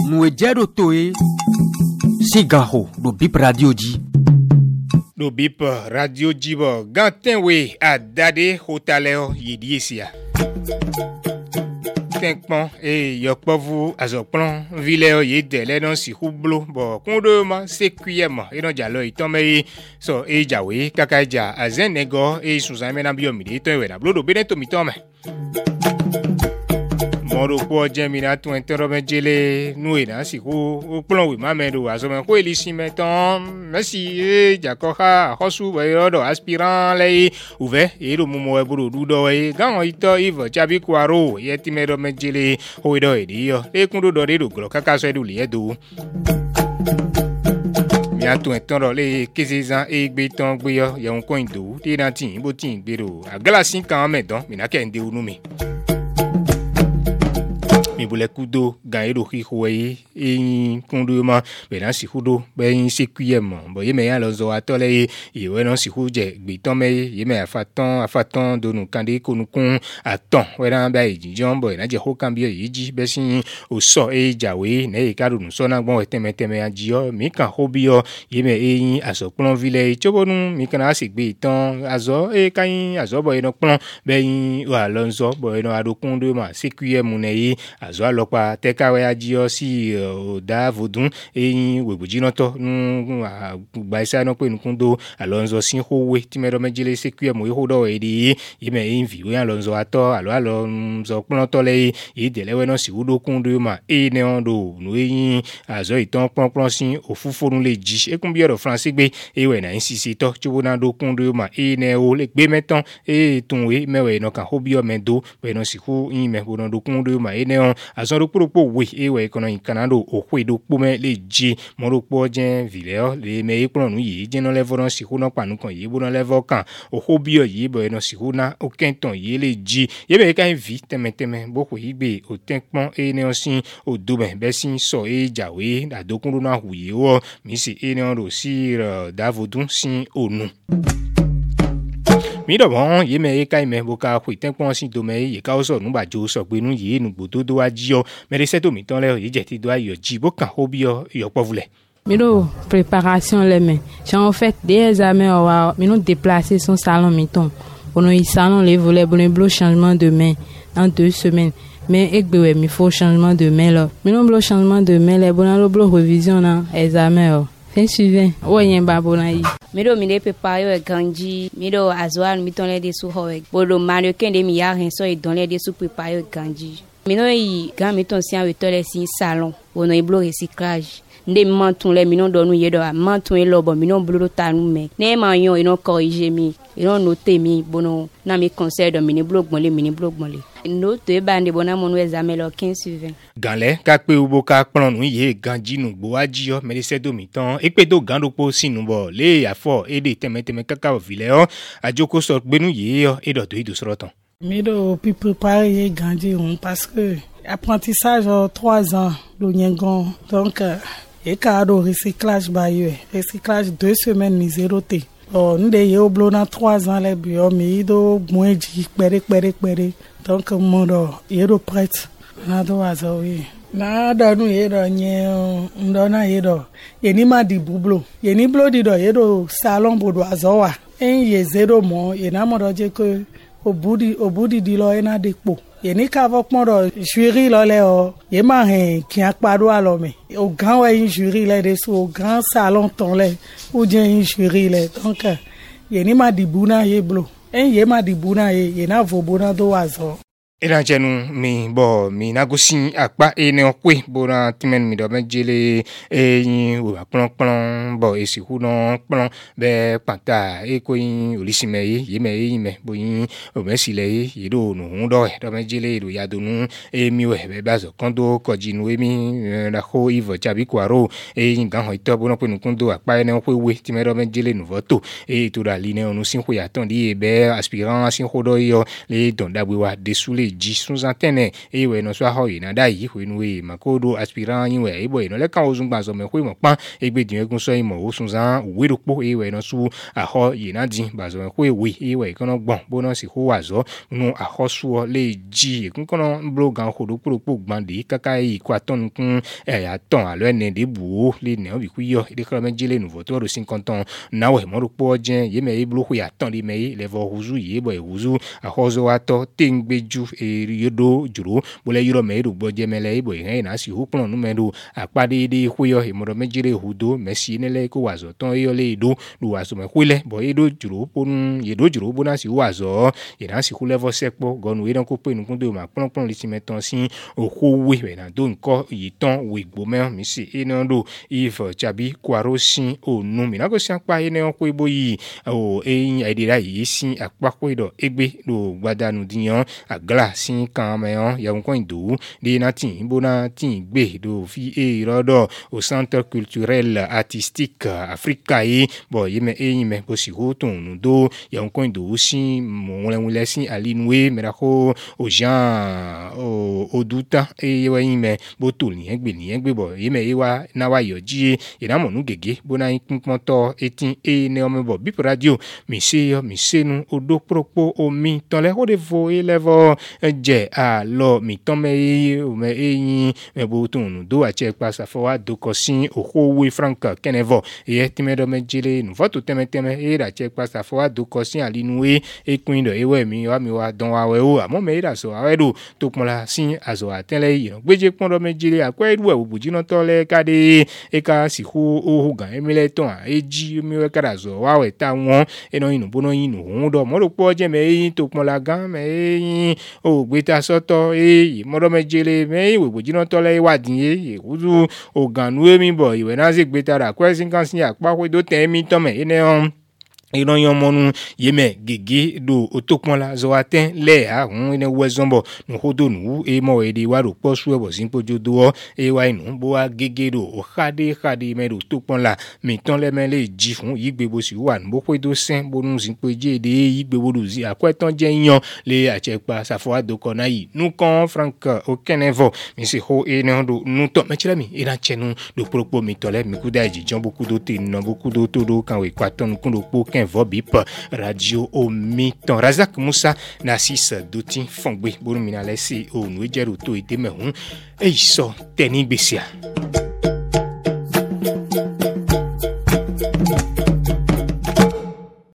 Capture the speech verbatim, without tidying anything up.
Nous jero toe sigaho do bip radio ji. Do bip radio ji bo ganten we adade hotaleo yediesia. Tenkpon e yokpovu azokpon vileo yedele non si hublo bo kondo ma sekuyema e don jalo itomei so e jawe kakaja azenego e suzame na biomide to we na blodo beneto mitome. Moro po jemina tu interrobe jele nuina si ku plon wi mamedo azome ko elisi meton merci e jakoha hosu bayodo aspirant lei uve e do mumo e buru dudo e gan ito ivo chabi kwaro yeti medo mejele hoido e dio e kundo do de do glo kaka so edu liedo Miatu entoro le kesezan e gbeton gbeyo yon koindo ti na tin bo tin gbero aglasin kan medon minake nde unumi mi bule kudo gairo hihoe e kondo ma be na si hudo be yin sekuyem bo ye me ya lozo atole e we no si huje gbeton me ye me afatan afatan donu kande konukun atan we na ba ejijon bo na je ho kan bi eji be sin o so e jawe na e karu nu so na gbon teme teme ajio mi kan hobio ye me e yin asopon vile chobonu mi kan asi gbe itan azo e kan azo bo ino pon be yin wa lonzo bo ino adokundo ma sekuyem ne yi azo alopa tekawe ajio si oda vodun eyin webujino to nu gba isa no pe nukundo alonzo sin howe timero mejile sekuyem we hodo edi yime envi we alonzo ato alo alonzo pon to le idelewe no si hudo kundo ma e ne ondo nu eyin azo itan pon pon sin ofufonu le ji ekun bi oro français gbe ewe na insisi to chubo na do kundo ma e ne o le gbe meton e tunwe mewe no kan hobio mendo be no si hu yin me bono do kundo ma e ne on azon ropo we ewe kono ikanado okwe do pome le ji moropo jen vileo le me ipron nu yi jeno le voron si hu no panu kan yi bono le vokan ohobio yi bo no si hu na okenton yi le ji ye be kan vi teme teme boko igbe o tenkpon e ne osin odobe be sin so e jawe adokun na huye o mi si e ne ro si davodun sin onu mi do bon ye me kai me boka ku tenpon sin do me ye ka o so nu ba jo so pe nu ye nu gbodo do wa ji o me se to mi ton le ye je ti do ayo ji boka hobi o yo povule mi do préparation les mains j'ai en fait des examens on va mi nous déplacer son salon mi ton on y salon les volets bon blo changement de main en deux semaines mais ekbe mi faut changement de main là mi non blo changement de main les bon lo blo révision na examen fin suivant o yen babona yi Mido mi de pepayo e ganji mido azoal mi ton le de su ho e bodo mario kende mi ya ren so e don le de su pepayo e ganji mino yi gan mi ton sian we to le sin salon wono e blo recyclage nde manton le mino do nu ye do manton e lobo mino blo ta nu me ne ma yon e no corriger mi e no noter mi bono na mi conseil do mini blo gbon le mini blo gbon le note e bande bona mon examen lo quinze sur vingt ganle ka pe ubo ka pon nu ye ganji nu gbo aji o me se do mi tan e pe do gando po sinu bo le afo e de teme teme kaka o vile o ajoko so gbe nu ye o e do to idu soro tan mi do pi préparer ganji on parce que apprentissage trois ans do nyengon donc et cadeau recyclage ba yo recyclage deux semaines ni zéro té oh nde yo blona trois ans le bio mi do moeji pere pere pere donc mon do yero prête na do azo wi na da nu yero nye ndo na yero yeni ma di bublo yeni blo di do yero salon bodo azo wa en ye zéro mo yena mo do je ko obudi obudi di lo ena de po yeni ka vo pon do jury lo le o ye ma hen ki apado alo me au grand ouais jury le de so grand salon ton le ou bien jury le donc yeni ma di buna ye blo en ye ma di buna ye yena vo bona do azo Ela jenu mi bo mi nagosin apa e ne okwe bona timen mi do mejele e yin o plon plon bo e si hu no plon be pata e ko yin olisime yi ye me yin me bo yin o me si le yi do nu do e do mejele do ya do nu e mi we be bazo kondo ko jinu e mi la ho ivo chabi kwaro e yin gan ho ito bona pe nu kondo apa e ne okwe we timen do mejele nu voto e to da line onu sin ho ya ton di e be aspirant sin ho do yo le don da we wa desule le ji sous antenne e we no so ho ina da yi we no e makodo aspirant yin we e boy no le kan ozun gba so me we mo pan e gbe din egun so imo o sun zan we ro po e we no su aho ina din ba so we we e we kan gbon bo no si ho wa zo nu aho su le ji e kun kan blo gan ho do pro po gban de kaka e ko aton kun e ya ton alo ene de bu le ne o bi ku yo de kra me jile nu voto ro cinquante ans na we mo ro po jen ye me e blo ku ya ton de me le vo huzu ye boy huzu aho zo ato tengbeju e yodo juro bo le yoro me ro gbo je me le boy he na si hu pon nu me do apade de ku yo e mo ro me jire hudo me si ne le ko wa zo ton yo le do lu wa so me kwile bo e do juro pon ye do juro bo na si wa zo ye na si ku le vo sepo gonu e don ko pe nu kun do ma pon pon le ti meton si okowe we na do nko yi ton we gbo me mi si e no do if chabi kwaro sin o nu mi na ko si apa e ne ko ibo yi o e e de ra yi sin apa ko do egbe do gbadanu diyan agla sin kan me on ya nko ido de na tin bo na tin gbe do fi e rodo au centre culturel artistique africa e bo ye me e me bo si ho ton nu do ya nko ido sin mo le wule sin alinwe me ra ko o jan o oduta e wa yin me bo to ni egbe ni egbe bo ye me e wa na wa yo ji e na mo nu gege bo na yin pon to etin e ne o me bo Bip Radio mi se yo mi se nu odo propo omi ton le ho de vo e levo je a lo mi ton me o me e yin me bo ton nu do a che pa sa fo wa do ko sin o ho we frank kenevo e ti me do me jile nu foto teme teme e ra che pa sa fo wa do ko sin alinu e e queen do e we mi wa mi wa don wa we o amo me ra so a we do to pon la sin azo atele yi no gbeje pon do me jile akwa edu e buji no to le kade e ka si hu o hu gan emile ton e ji mi we kara zo wa we ta won e no yin bo no yin nu do mo ro po je me yin to pon la gan me yin o gbe ta soto e mo do me jile me we buji no to le wa din e wuzu o gan nu e mi bo iwe na se gbe ta ra kwa sin kan sin apa we do ten mi ton me e ne on iran yon monu yeme gege do otokpon la zo aten le a hun ine wezombo nu hodo nu e mo e de wa ro po su e bo sin pojo do e wa inu bo wa gege do o khade khade me do tokpon la mi ton le me le ji fun yigbe bo si wa nu bo pe do sen bo nu sin peje de yigbe bo do zi akwetan je yan le achepa safo ado kona yi nu kan frank o kenevo mi se ho e na do nu to me chira mi e na chenu do propo mi tole mi ku da ji jon boku do te no boku do to do kan we kwaton kun do po Bip Radio au mi-temps. Razak Moussa Nassis Doutin Fongbe Bourumina Lessi au Nouéjeru to ite mehun e iso teni besia.